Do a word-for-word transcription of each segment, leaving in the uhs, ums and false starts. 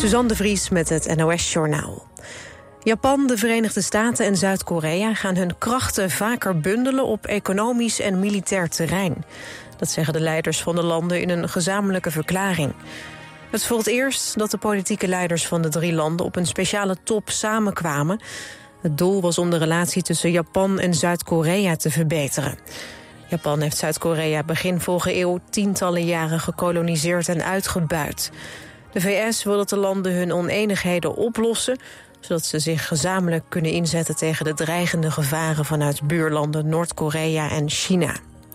Suzanne de Vries met het N O S-journaal. Japan, de Verenigde Staten en Zuid-Korea gaan hun krachten vaker bundelen op economisch en militair terrein. Dat zeggen de leiders van de landen in een gezamenlijke verklaring. Het is voor het eerst dat de politieke leiders van de drie landen op een speciale top samenkwamen. Het doel was om de relatie tussen Japan en Zuid-Korea te verbeteren. Japan heeft Zuid-Korea begin vorige eeuw tientallen jaren gekoloniseerd en uitgebuit. De V S wil dat de landen hun oneenigheden oplossen, zodat ze zich gezamenlijk kunnen inzetten tegen de dreigende gevaren vanuit buurlanden Noord-Korea en China.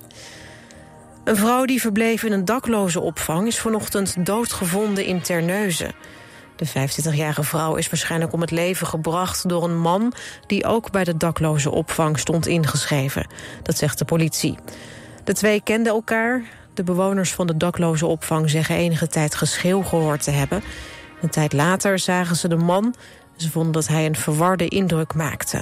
Een vrouw die verbleef in een daklozenopvang is vanochtend doodgevonden in Terneuzen. De vijfentwintigjarige vrouw is waarschijnlijk om het leven gebracht door een man die ook bij de daklozenopvang stond ingeschreven. Dat zegt de politie. De twee kenden elkaar. De bewoners van de daklozenopvang zeggen enige tijd geschreeuw gehoord te hebben. Een tijd later zagen ze de man. Ze vonden dat hij een verwarde indruk maakte.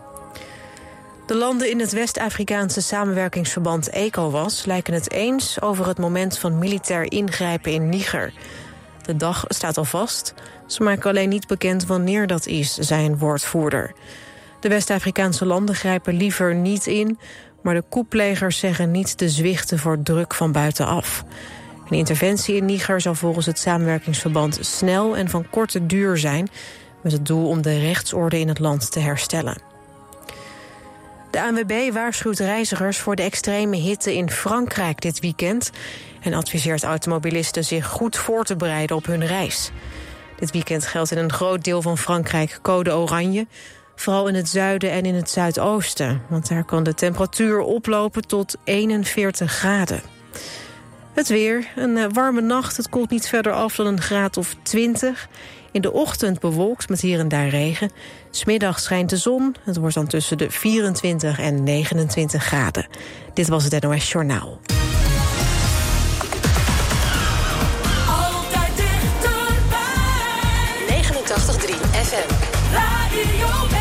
De landen in het West-Afrikaanse samenwerkingsverband ECOWAS lijken het eens over het moment van militair ingrijpen in Niger. De dag staat al vast. Ze maken alleen niet bekend wanneer dat is, zei een woordvoerder. De West-Afrikaanse landen grijpen liever niet in, maar de coupplegers zeggen niet te zwichten voor druk van buitenaf. Een interventie in Niger zal volgens het samenwerkingsverband snel en van korte duur zijn, met het doel om de rechtsorde in het land te herstellen. De A N W B waarschuwt reizigers voor de extreme hitte in Frankrijk dit weekend en adviseert automobilisten zich goed voor te bereiden op hun reis. Dit weekend geldt in een groot deel van Frankrijk code oranje, vooral in het zuiden en in het zuidoosten, want daar kan de temperatuur oplopen tot eenenveertig graden. Het weer, een warme nacht, het koelt niet verder af dan een graad of twintig. In de ochtend bewolkt met hier en daar regen. 'S Middags schijnt de zon. Het wordt dan tussen de vierentwintig en negenentwintig graden. Dit was het N O S Journaal. Altijd dichterbij. negenentachtig komma drie F M. Radio West.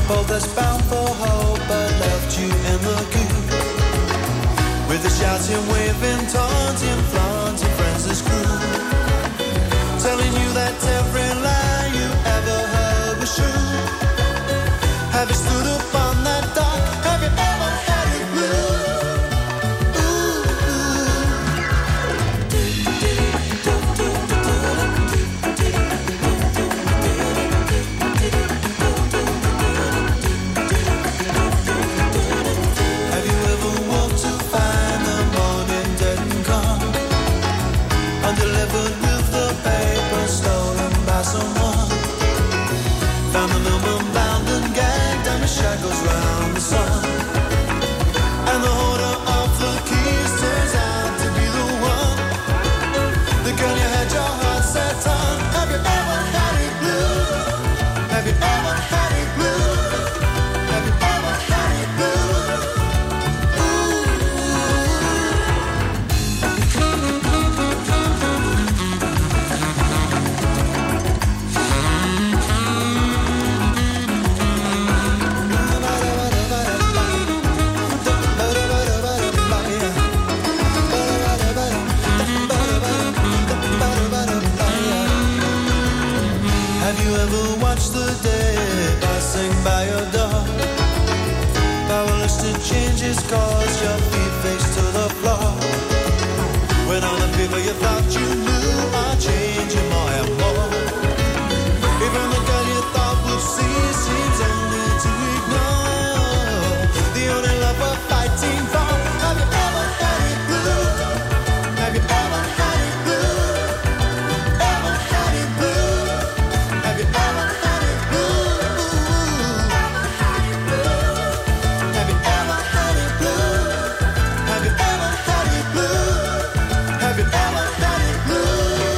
both us bound for hope, but left you in the queue. With the shouting, waving, taunting, flaunting friends as crew, telling you that every lie you ever heard was true. Have you stood up on that dock? Have you ever had it blue? Shackles round the sun, and the holder of the keys turns out to be the one, the girl you had your heart set on. Have you ever had it blue? Have you ever had it blue? Have you ever had it blue? The day passing by your door, powerless to change his course, your feet face to the floor. When all the people you thought you knew are changing more and more. Even the girl you thought would see seems only to ignore the only love we're fighting for. Have you ever had it blue? Have you ever had it blue? Ever had it blue? Have you ever had it blue? Have you ever had it blue? Have you ever had it blue? Have you ever had it blue?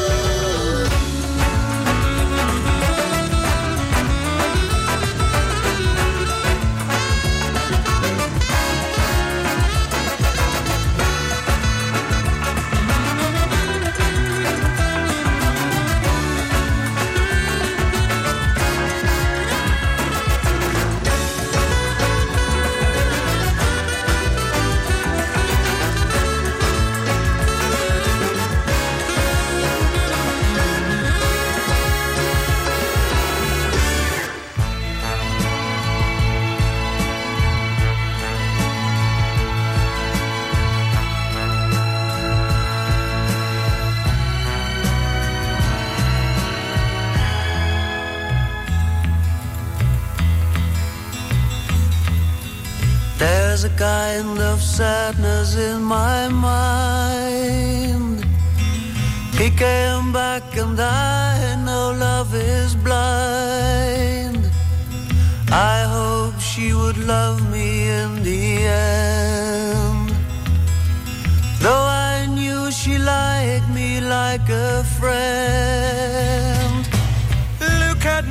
There's a kind of sadness in my mind. He came back and I know love is blind. I hope she would love me in the end, though I knew she liked me like a friend. Look at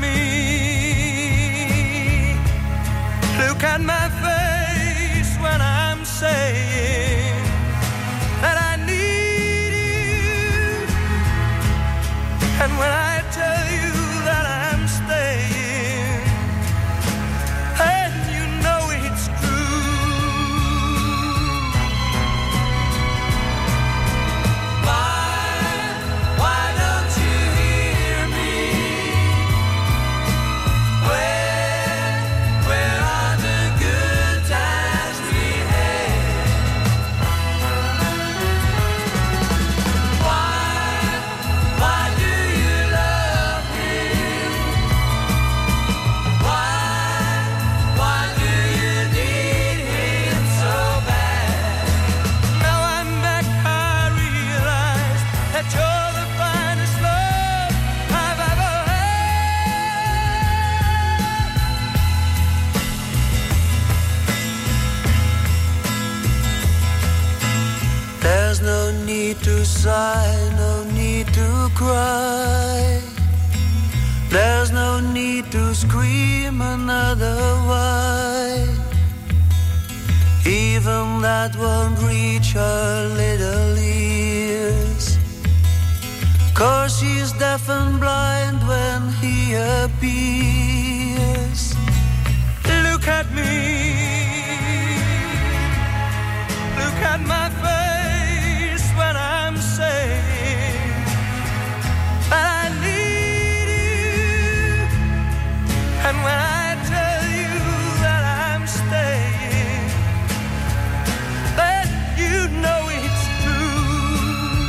me, look at my face when I'm saying that I need you, and when I tell you that I'm staying, and you know it's true. Why, why don't you hear me? Where, where are the good times we had? Why, why do you love me? Why, why do you need him so bad? Now I'm back, I realize that you're the finest love I've ever had. There's no need to sigh, no need to cry. There's no need to scream another why. Even that won't reach her little ears, 'cause she's deaf and blind when he appears. at me. Look at my face when I'm saying that I need you. And when I tell you that I'm staying, then you know it's true.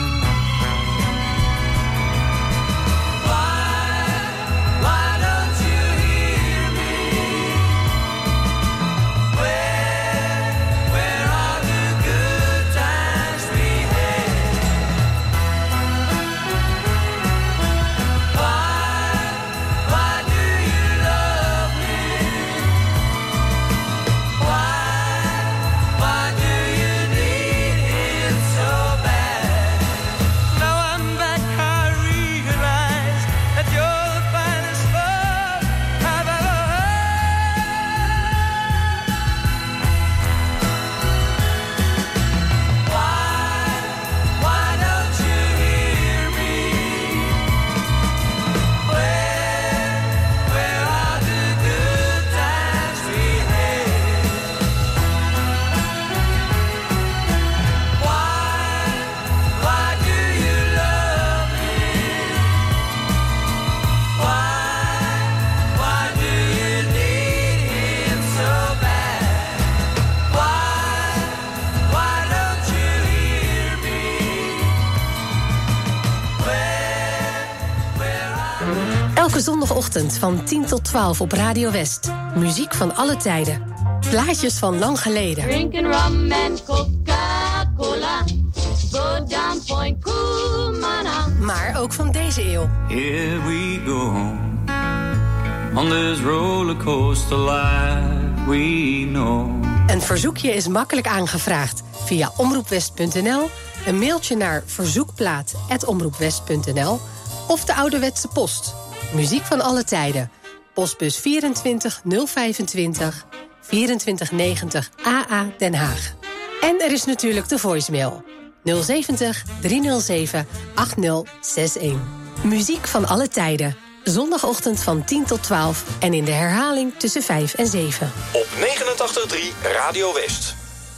Why, why don't you hear me? Where, where are the good times we had? Why, why do you love me? Why, why do you need him so bad? Now I'm back, I realize that you're the finest love I've ever had. Why, why don't you hear me? Where, where are the good times we had? Why, why do you love me? Why, why do you need him so bad? Why, why don't you hear me? Where, where are Elke zondagochtend van tien tot twaalf op Radio West. Muziek van alle tijden. Plaatjes van lang geleden. Drinking rum and Coca-Cola. Go down Point Kumana. Maar ook van deze eeuw. Here we go on this rollercoaster life we know. Een verzoekje is makkelijk aangevraagd via omroepwest punt n l, een mailtje naar verzoekplaat apenstaartje omroepwest punt n l of de ouderwetse post. Muziek van alle tijden. Postbus vierentwintig nul vijfentwintig vierentwintig negentig A A Den Haag. En er is natuurlijk de voicemail nul zeventig driehonderdzeven achtzig zestig. Muziek van alle tijden. Zondagochtend van tien tot twaalf en in de herhaling tussen vijf en zeven. Op negenentachtig komma drie Radio West.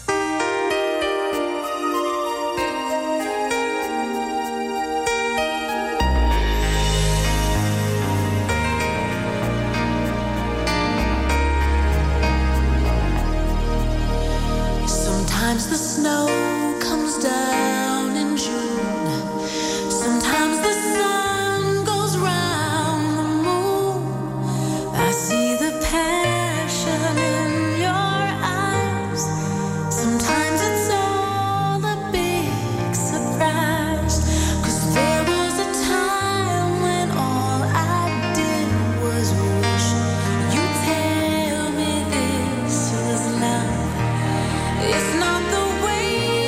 Sometimes the snow comes down in June. Sometimes the sun goes round the moon. I see the passion in your eyes. Sometimes it's all a big surprise. 'Cause there was a time when all I did was wish you'd tell me this was love. It's not the way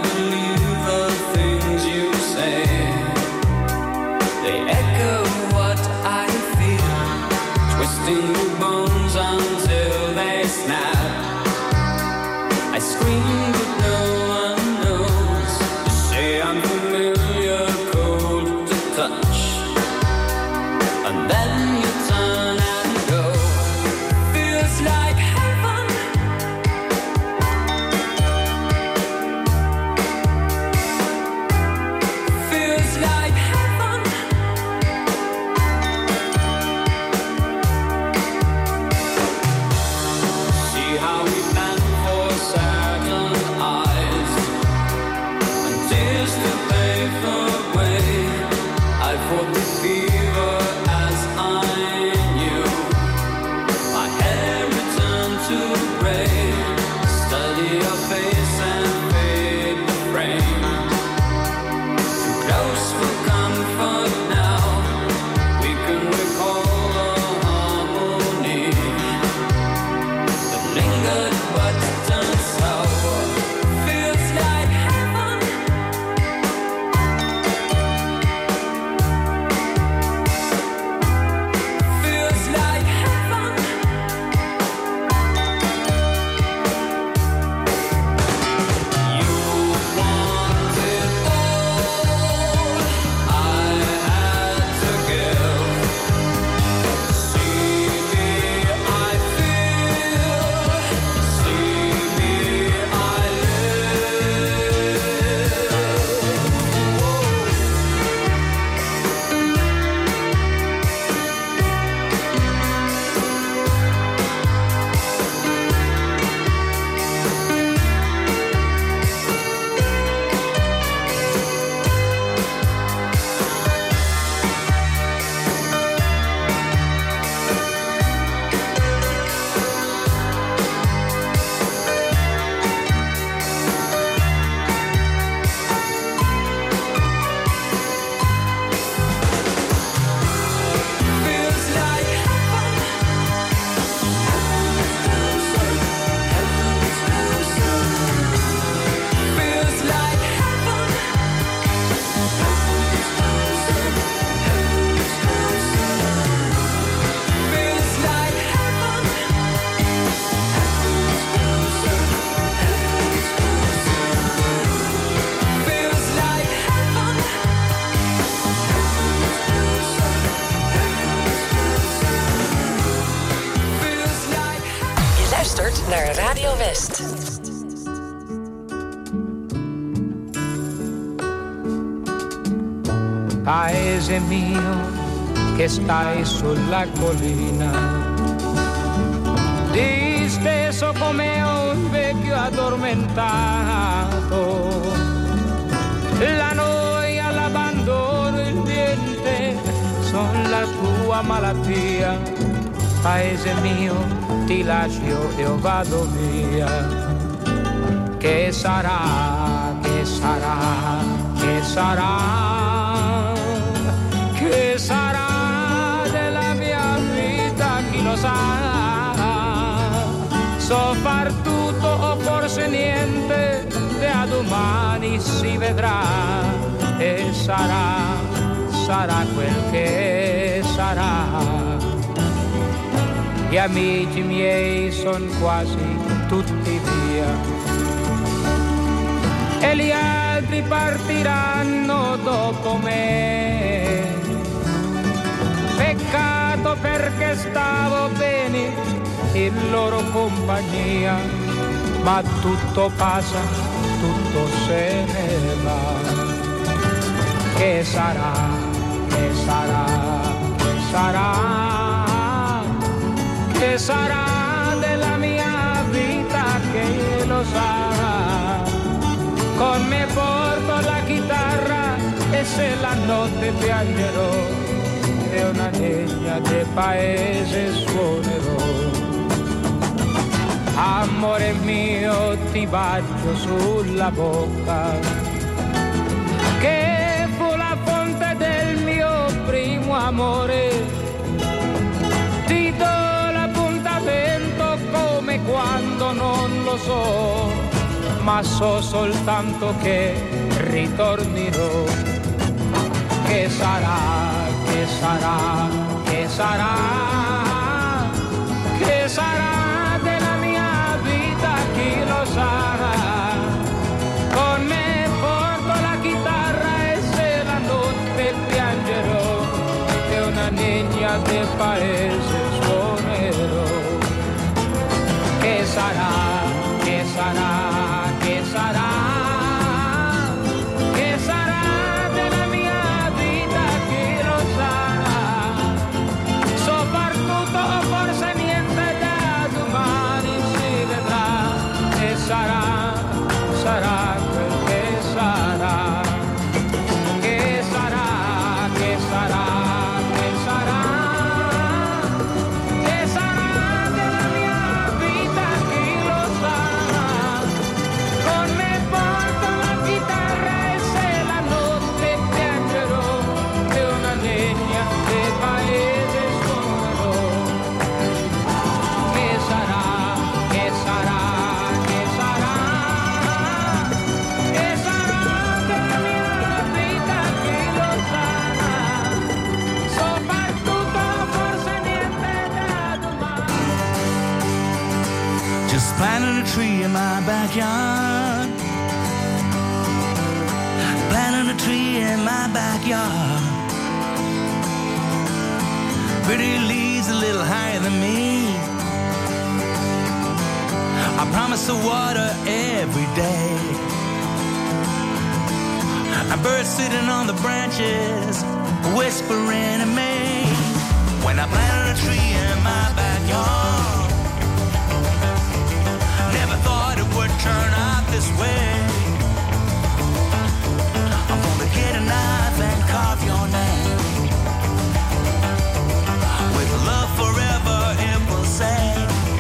believe the things you say. They echo what I feel, twisting the bones until they snap. I scream but no one knows. You say I'm familiar, cold to touch, and then you turn and go. Feels like heaven. Feels like heaven. See how we plan for saddened eyes and tears to pave the way. I fought the fever as I knew. My hair returned to gray. Study your face and fade the frame. Too close for comfort now. We can recall the harmony that lingered but turned sour. Feels like heaven. Feels like heaven. You want it all. I had to give. See me, I feel. See me, I live. Feels like heaven. Feels like heaven. Feels like heaven. Feels like heaven. Feels like heaven. Je luistert naar Radio West. Paese mio che stai sulla collina, disteso come un vecchio addormentato, la noia, l'abbandono, il niente son la tua malattia. Paese mio, ti lascio e io vado via. Che sarà, che sarà, che sarà, che sarà della mia vita, chi lo sa. So far tutto o forse niente, da domani si vedrà. E sarà, sarà quel che sarà. Gli amici miei son quasi tutti via e gli altri partiranno dopo me. Peccato perché stavo bene in loro compagnia, ma tutto passa, tutto se ne va. Che sarà, che sarà, che sarà, che sarà della mia vita, che lo sa. Con me porto la chitarra e se la notte piangerò e una legna del paese suonerò. Amore mio, ti bacio sulla bocca, che fu la fonte del mio primo amore. Ti do l'appuntamento come quando non lo so, ma so soltanto che ritornerò. Che sarà, che sarà, che sarà, che sarà della mia vita, chi lo sa. Con me porto la chitarra e se la notte piangerò, che una niña del paese suonerò. Che sarà, che sarà, che sarà, che sarà della mia vita, chi lo sa. Soprattutto forse niente da domani si vedrà. E sarà, sarà quel che sarà. Che sarà, che sarà, che sarà. Che sarà della mia vita, chi lo sa. Con me porto la chitarra e se la notte piangerò, e una legna del paese suonerò. Che sarà, che sarà, che sarà, che sarà della mia vita, chi lo sa. Soprattutto forse niente da domani. Just planted a tree in my backyard. Planted a tree in my backyard. Pretty leaves a little higher than me. I promise to water every day. And birds sitting on the branches, whispering in May. When I planted a tree in my backyard, never thought it would turn out this way. I'm gonna get a knife and carve your name. With love forever, it will say.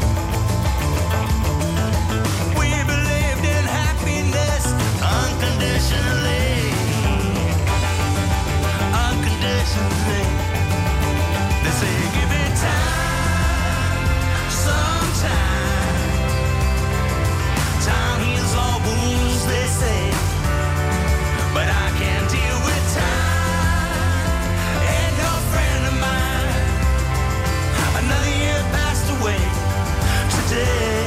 We believed in happiness unconditionally. Unconditionally. They say give it time, some time. Time heals all wounds, they say. But I can't deal with time. Ain't no friend of mine. Another year passed away today.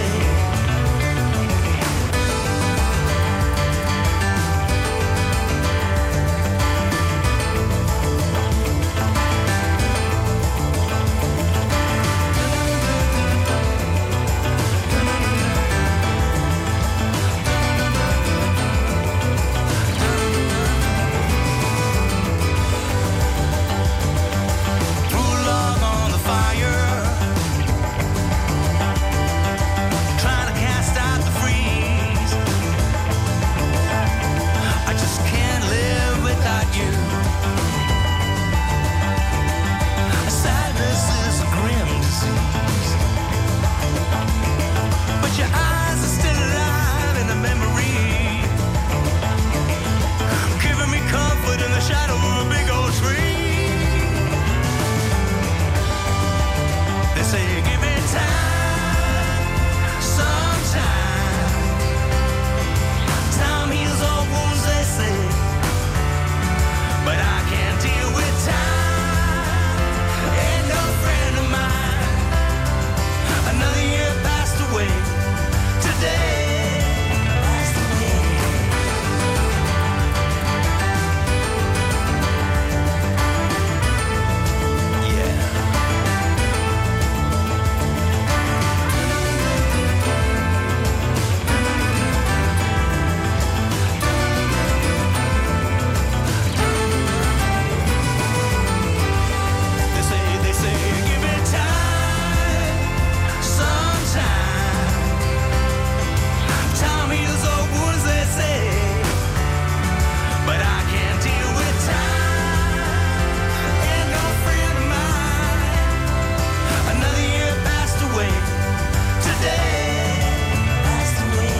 Threw a log on the fire, trying to cast out the freeze. I just can't live without you. Sadness is a grim disease, but your eyes are still alive in the memory, giving me comfort in the shadow of a big old tree. They say give it time, some time. Time heals all wounds, they say. But I can't deal with time. Ain't no friend of mine. Another year passed away today. Passed away. Yeah. They say, they say, give it time, some time. Time heals all wounds, they say. But I can't deal with time. Ain't no friend of mine. Another year passed away today. Passed away.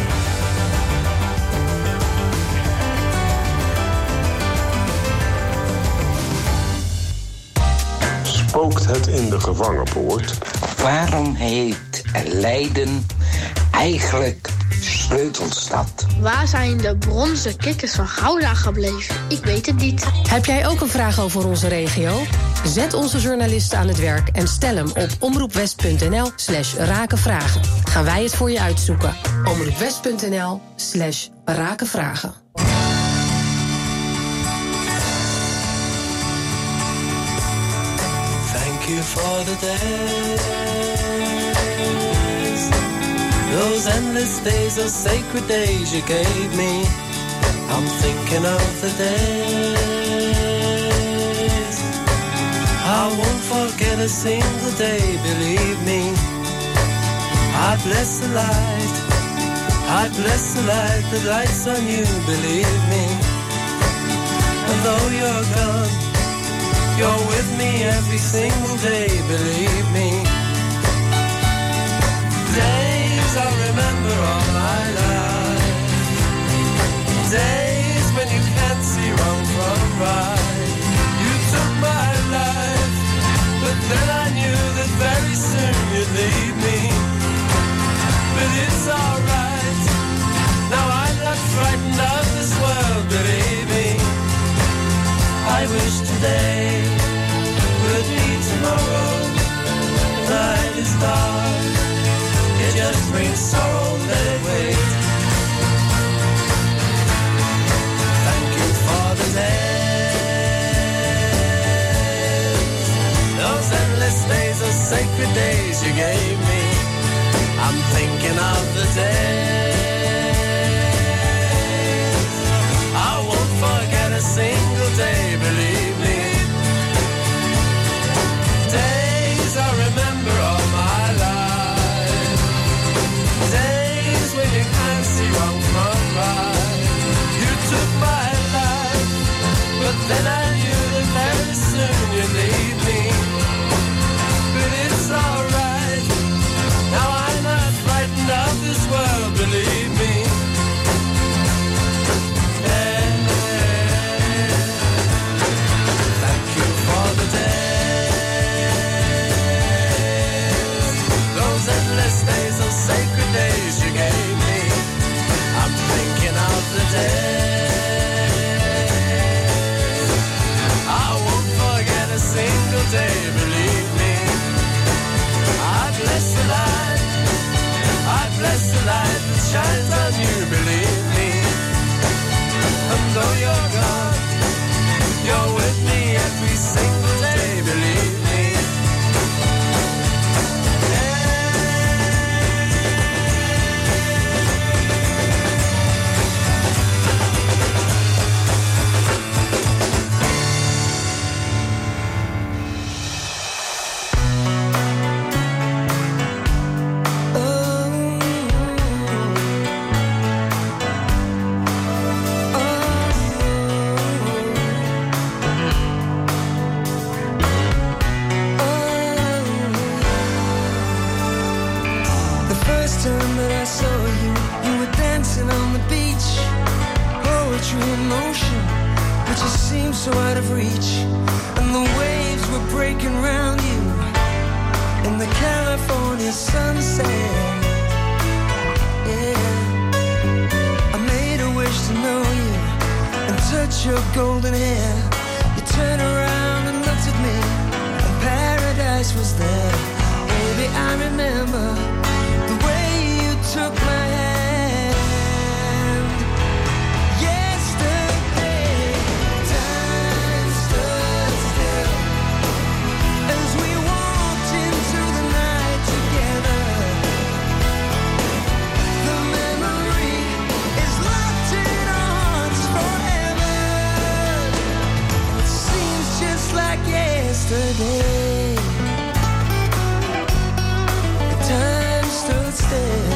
Spookt het in de gevangenpoort? Waarom heet lijden eigenlijk Sleutelstad. Waar zijn de bronzen kikkers van Gouda gebleven? Ik weet het niet. Heb jij ook een vraag over onze regio? Zet onze journalisten aan het werk en stel hem op omroepwest.nl slash rakenvragen. Gaan wij het voor je uitzoeken. omroepwest.nl slash rakenvragen. Thank you for the days, those endless days, those sacred days you gave me. I'm thinking of the days I won't forget a single day, believe me. I bless the light, I bless the light that lights on you, believe me. And though you're gone, you're with me every single day, believe me. Days I remember all my life, days when you can't see wrong from right. You took my life, but then I knew that very soon you'd leave me. But it's alright, now I'm not frightened of this world, believe me. I wish today would be tomorrow. The night is dark, it just brings sorrow, let it wait. Thank you for the days, those endless days, those sacred days you gave me. I'm thinking of the days I won't forget a single day, believe me. Days I remember all my life, days when you can't see wrong from right. You took my life, but then I knew that very soon you'd leave me. But it's alright, now I'm not frightened of this world, believe me. Days, those sacred days you gave me. I'm thinking of the days I won't forget a single day, believe me. I bless the light, I bless the light that shines on you, believe me. And though you're gone, you're with me every single day, believe me. So out of reach, and the waves were breaking round you in the California sunset. Yeah, I made a wish to know you and touch your golden hair. You turned around and looked at me, and paradise was there. Baby, I remember the way you took my hand. Yesterday, the time stood still.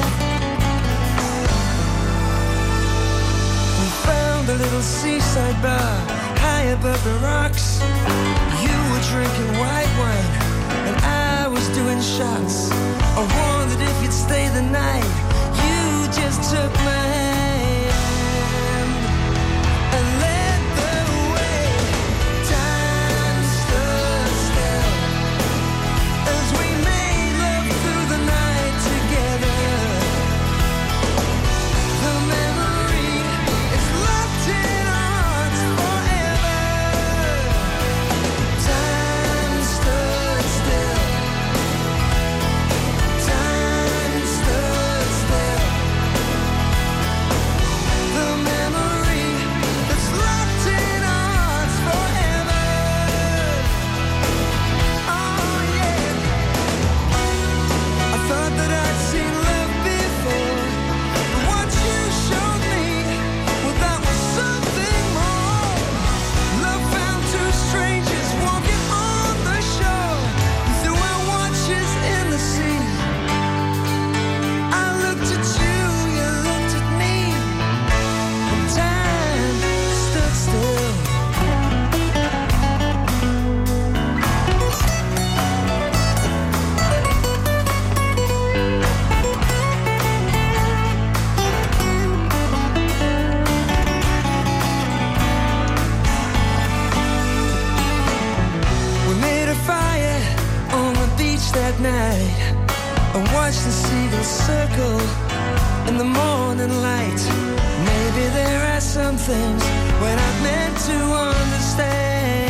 We found a little seaside bar high above the rocks. You were drinking white wine and I was doing shots. I wondered if you'd stay the night. You just took my hand and led the way. Time stood still as we made love through the night together. at night and watch the seagulls circle in the morning light. Maybe there are some things we're not meant to understand.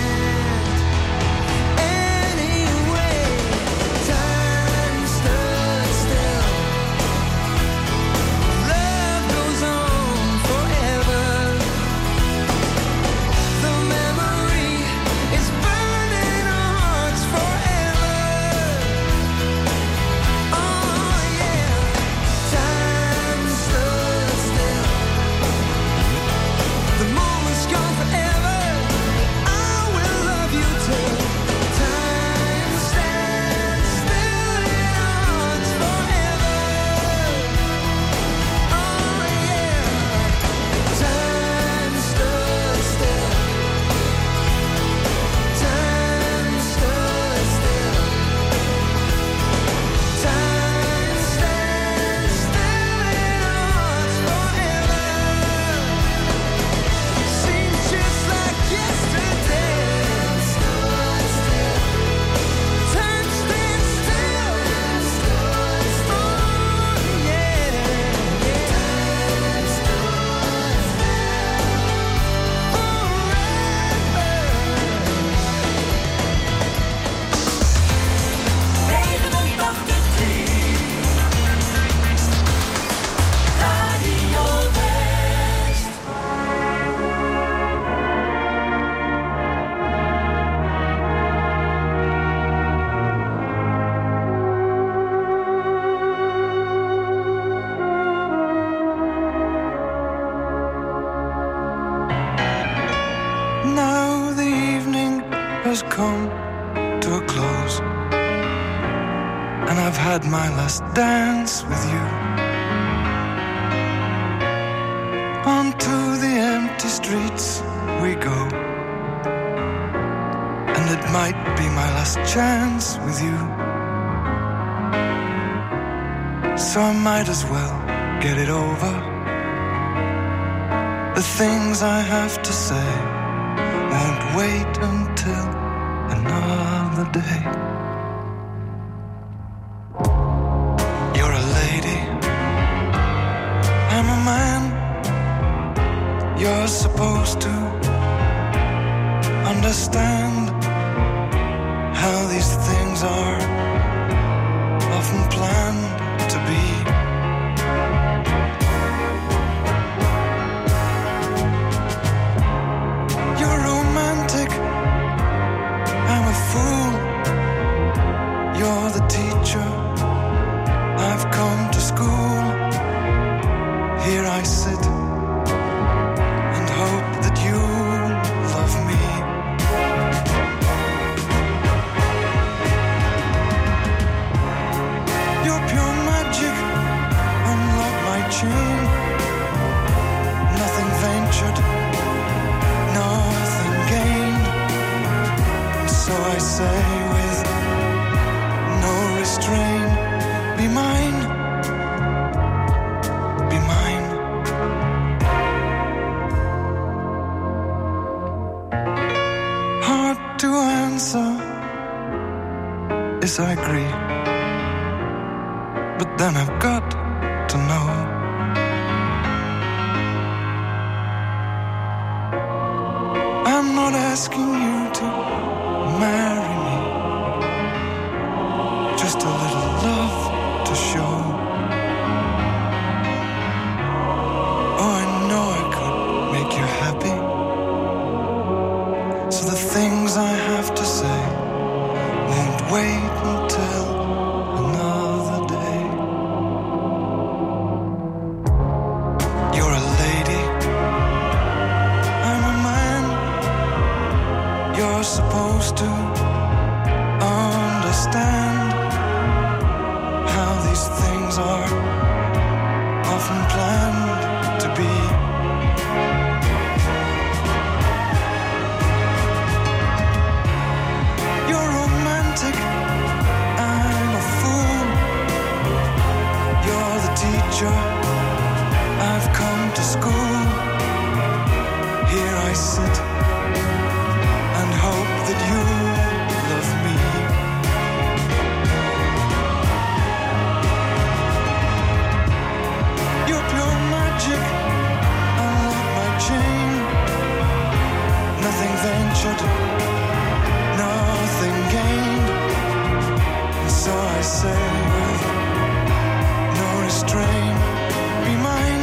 Anyway, time stood still. Love goes on forever. The memory is burning our hearts forever. Oh yeah, time stood still. The moment's gone forever. I will love you till time stands still in our hearts forever. Oh yeah, time stood still. Time stood still. Time stands still in our hearts forever. Seems just like yesterday. Time stands still. Time stands still. Oh yeah, time stood still. Now the evening has come to a close, and I've had my last dance with you. Onto the empty streets we go, and it might be my last chance with you. So I might as well get it over. The things I have to say won't wait until another day. You're a lady, I'm a man. You're supposed to understand how these things are often planned to be. You're romantic, I'm a fool. You're the teacher, I've come to school. Here I sit and hope that you love me. You're pure magic, unlock my chain. Nothing ventured, nothing gained. So I say with no restraint, be mine, be mine. Hard to answer, yes I agree. But then I've got to know. I'm not asking you to marry me, just a little love to show. Oh, I know I could make you happy. So the things I have to say won't wait until another day. You're a lady, I'm a man. You're supposed to understand how these things are often planned to be. You're romantic, I'm a fool. You're the teacher, I've come to school. Here I sit and hope that you love me. effort, nothing gained. And so I say with no restraint, be mine,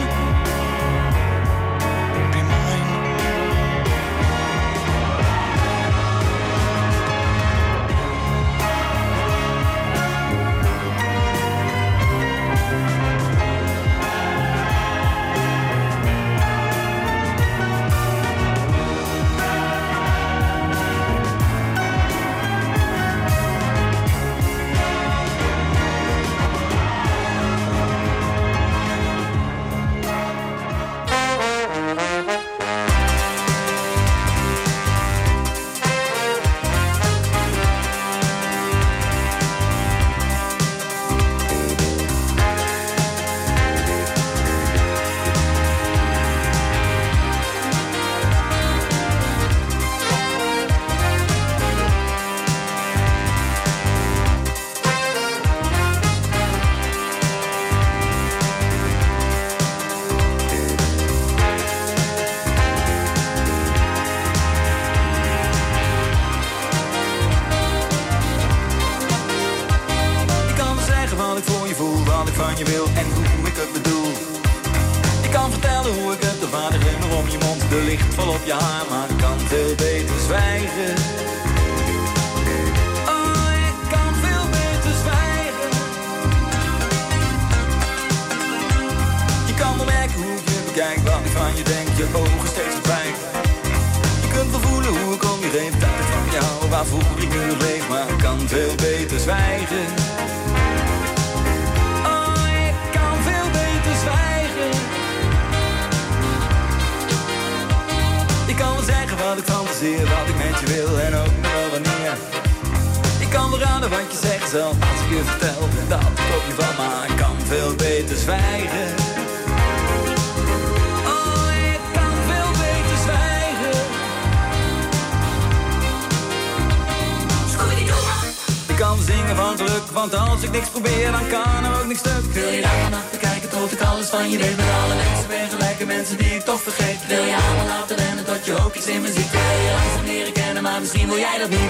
be mine. van je wil en hoe ik het bedoel. Ik kan vertellen hoe ik het, de vader glimmer om je mond, de licht vol op je haar, maar ik kan veel beter zwijgen. Oh, ik kan veel beter zwijgen. Je kan wel merken hoe ik je bekijk, wat ik van je denk, je ogen steeds verdwijnen. Je kunt wel voelen hoe ik om je heen, dat ik van jou, waarvoor ik nu nog leef, maar ik kan veel beter zwijgen. Ik kan wel zeggen wat ik fantaseer, wat ik met je wil en ook nog wel wanneer. Ik kan wel raden wat je zegt zelf als ik je vertel dat ik op je van, maar ik kan veel beter zwijgen. Oh, ik kan veel beter zwijgen. Ik kan zingen van geluk, want als ik niks probeer, dan kan er ook niks stuk. Wil je daar vanaf te kijken tot ik alles van je weet, met alle mensen ben gelijke mensen die ik toch vergeet. Wil je allemaal laten rennen tot je ook iets in me ziet. Wil je langzaam leren kennen, maar misschien wil jij dat niet.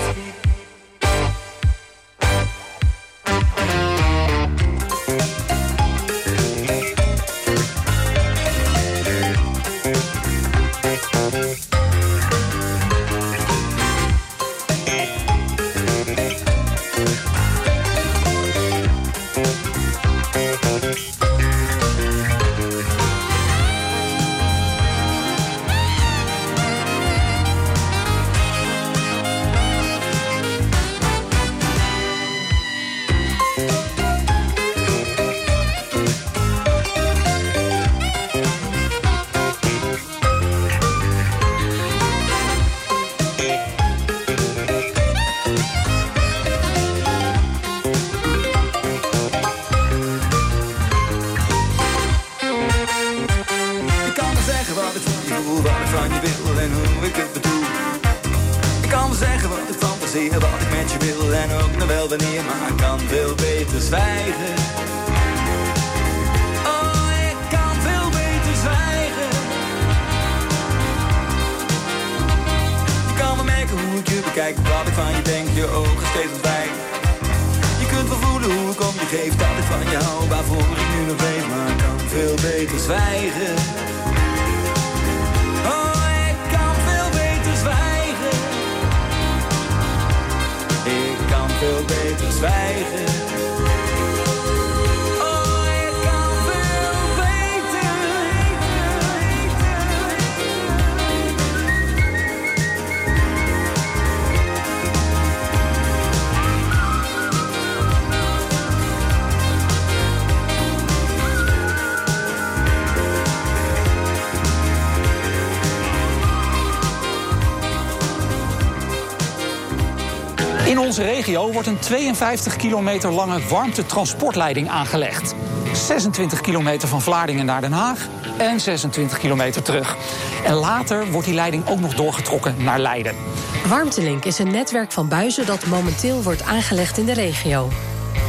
In onze regio wordt een tweeënvijftig kilometer lange warmtetransportleiding aangelegd. zesentwintig kilometer van Vlaardingen naar Den Haag en zesentwintig kilometer terug. En later wordt die leiding ook nog doorgetrokken naar Leiden. Warmtelink is een netwerk van buizen dat momenteel wordt aangelegd in de regio.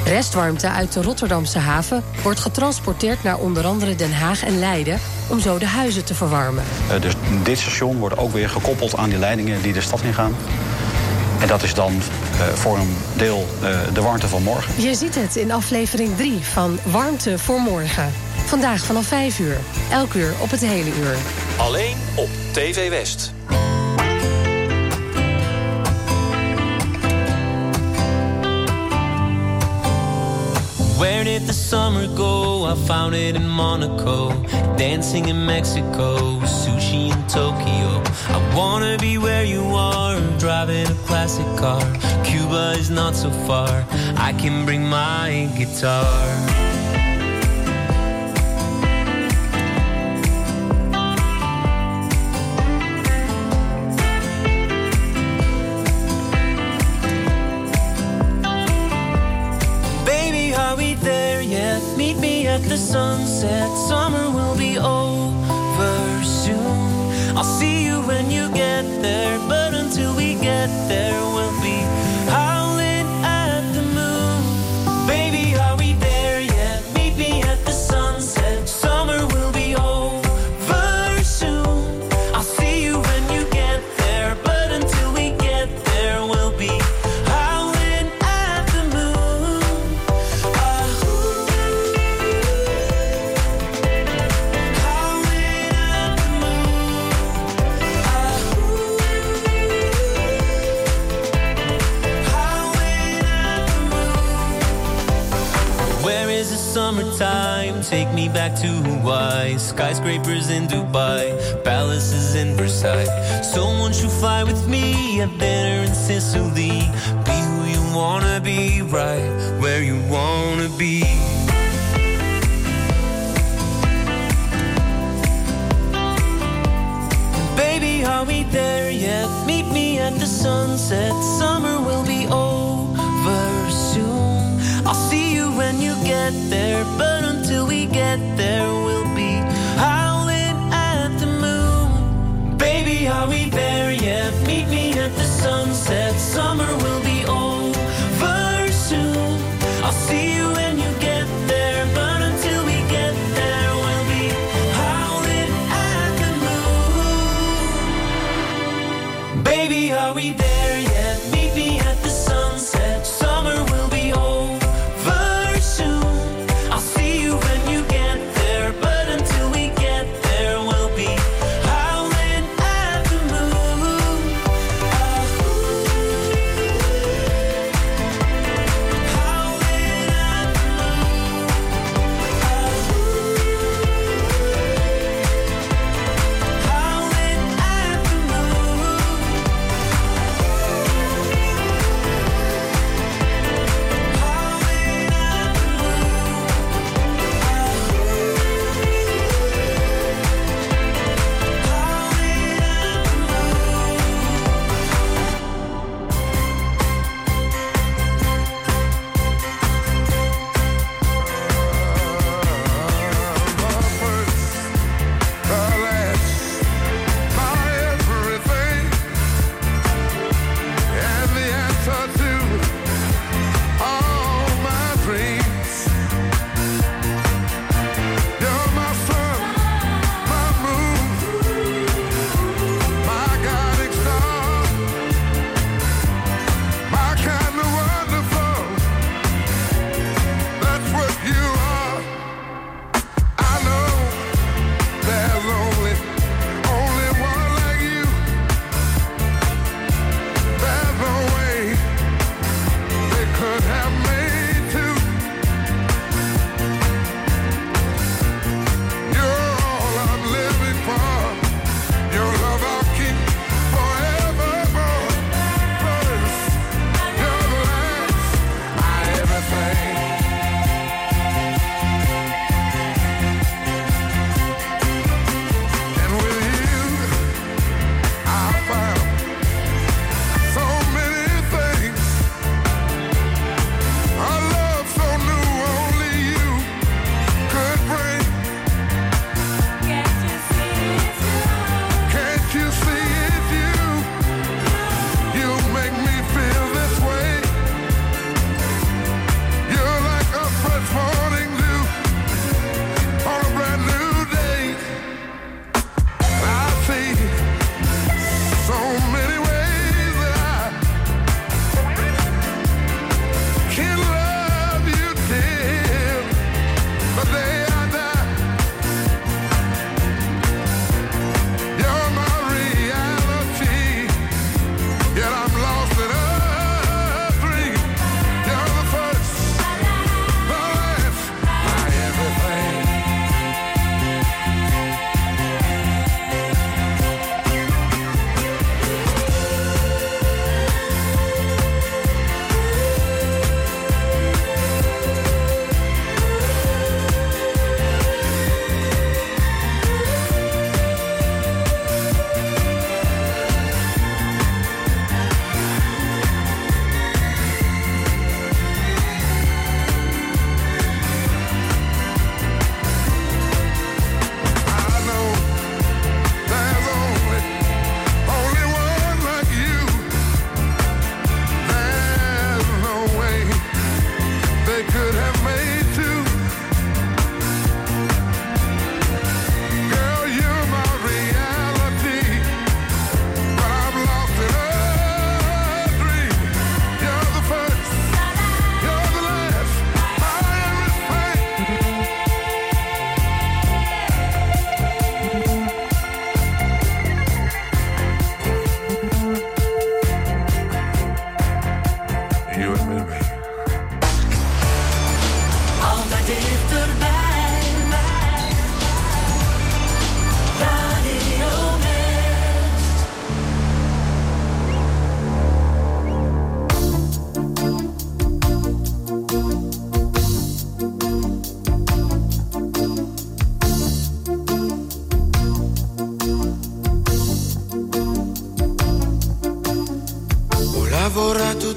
Restwarmte uit de Rotterdamse haven wordt getransporteerd naar onder andere Den Haag en Leiden om zo de huizen te verwarmen. Uh, dus dit station wordt ook weer gekoppeld aan die leidingen die de stad ingaan. En dat is dan uh, voor een deel uh, de warmte van morgen. Je ziet het in aflevering drie van Warmte voor Morgen. Vandaag vanaf vijf uur. Elk uur op het hele uur. Alleen op T V West. Where did the summer go? I found it in Monaco, dancing in Mexico, sushi in Tokyo. I wanna be where you are, driving a classic car. Cuba is not so far, I can bring my guitar. Meet me at the sunset, summer will be over soon. I'll see you when you get there, but until we get there, we'll be howling at the moon. Baby, are we there yet? Meet me at the sunset, summer will be over soon. I'll see you when you get there, but until we get there, we'll be howling at the moon. Summertime, take me back to Hawaii. Skyscrapers in Dubai, palaces in Versailles. Someone should fly with me, have dinner in Sicily. Be who you wanna be, right where you wanna be. Baby, are we there yet? Meet me at the sunset, summer will be over soon. I'll see you when you get there, but until we get there, we'll be howling at the moon. Baby, are we there yet? Meet me at the sunset, summer will be over soon. I'll see you when you get there, but until we get there, we'll be howling at the moon. Baby, are we there yet? Meet me at the sunset, summer will be over.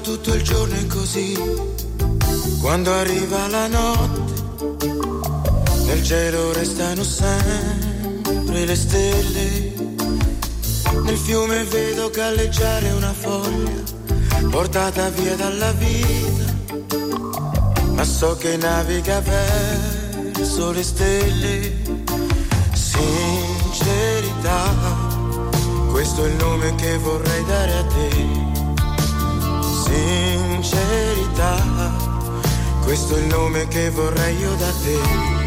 tutto il giorno è così. Quando arriva la notte, nel cielo restano sempre le stelle. Nel fiume vedo galleggiare una foglia, portata via dalla vita, ma so che naviga verso le stelle. Sincerità, questo è il nome che vorrei dare a te. Sincerità, questo è il nome che vorrei io da te.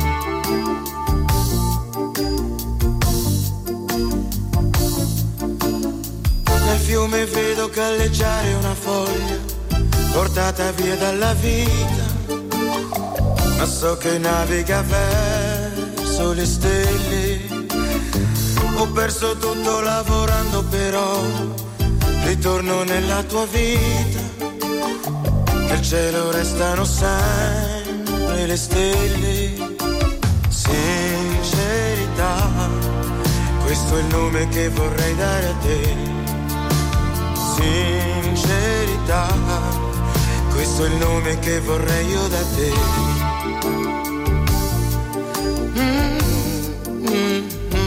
Nel fiume vedo galleggiare una foglia, portata via dalla vita, ma so che naviga verso le stelle. Ho perso tutto lavorando però ritorno nella tua vita. Nel cielo restano sempre le stelle. Sincerità, questo è il nome che vorrei dare a te. Sincerità, questo è il nome che vorrei io da te. Mm-hmm.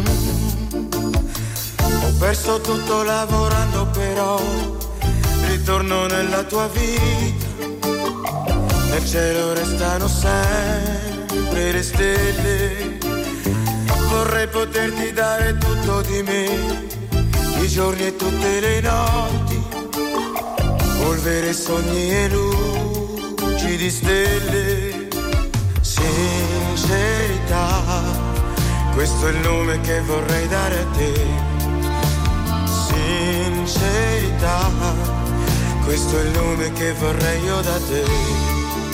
Ho perso tutto lavorando però ritorno nella tua vita. Nel cielo restano sempre le stelle. Vorrei poterti dare tutto di me, i giorni e tutte le notti, polvere, sogni e luci di stelle. Sincerità, questo è il nome che vorrei dare a te. Sincerità, questo è il nome che vorrei io da te.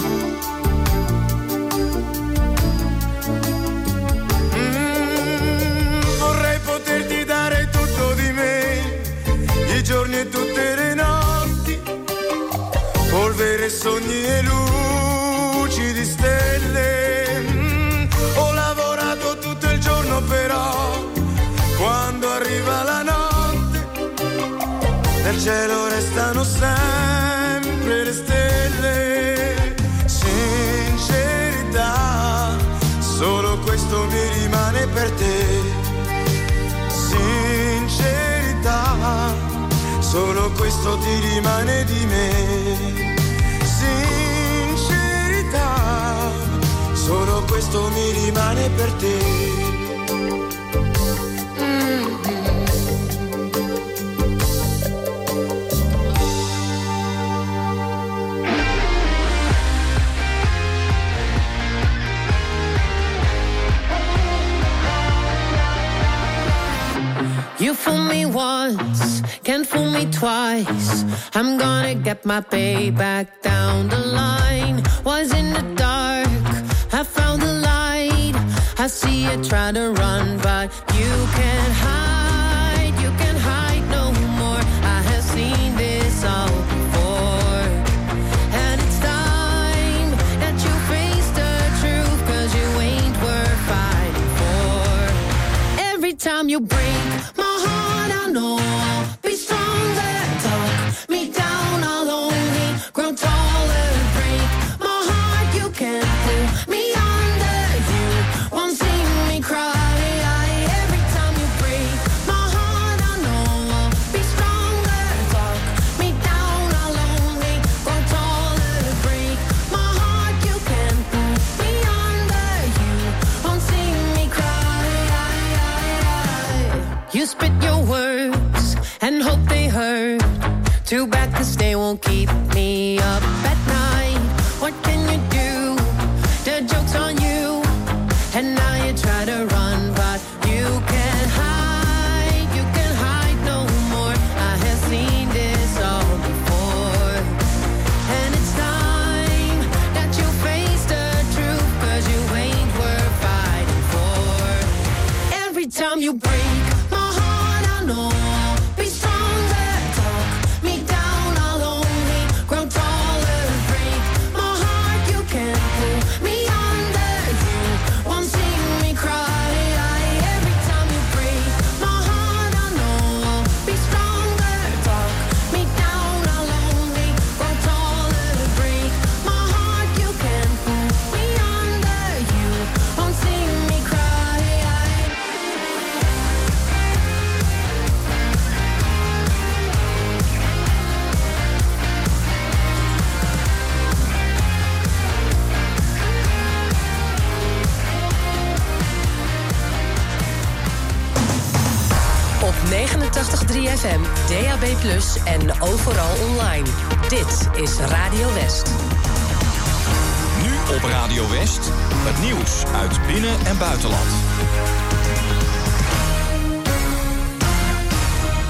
I giorni e tutte le notti, polvere, sogni e luci di stelle. Mm, ho lavorato tutto il giorno però quando arriva la notte nel cielo restano sempre le stelle. Sincerità, solo questo mi rimane per te. Sincerità, solo questo ti rimane di me. Sincerità, solo questo mi rimane per te. You fool me once, can't fool me twice. I'm gonna get my payback down the line. Was in the dark, I found the light. I see you try to run, but you can't hide. You can't hide no more. I have seen this all before. And it's time that you face the truth, 'cause you ain't worth fighting for. Every time you break no, be stronger, talk me down, I'll only grow taller, break my heart, you can't pull me under, you won't see me cry, every time you break my heart, I know I'll be stronger, talk me down, I'll only grow taller, break my heart, you can't pull me under, you won't see me cry, you spit your words and hope they hurt. Too bad 'cause they won't keep me up at night. What can you do? The joke's on you. And now you try to run, but you can't hide. You can't hide no more. I have seen this all before. And it's time that you face the truth, 'cause you ain't worth fighting for. Every time you break my heart, I know tachtig komma drie F M, D A B plus, en overal online. Dit is Radio West. Nu op Radio West, het nieuws uit binnen- en buitenland.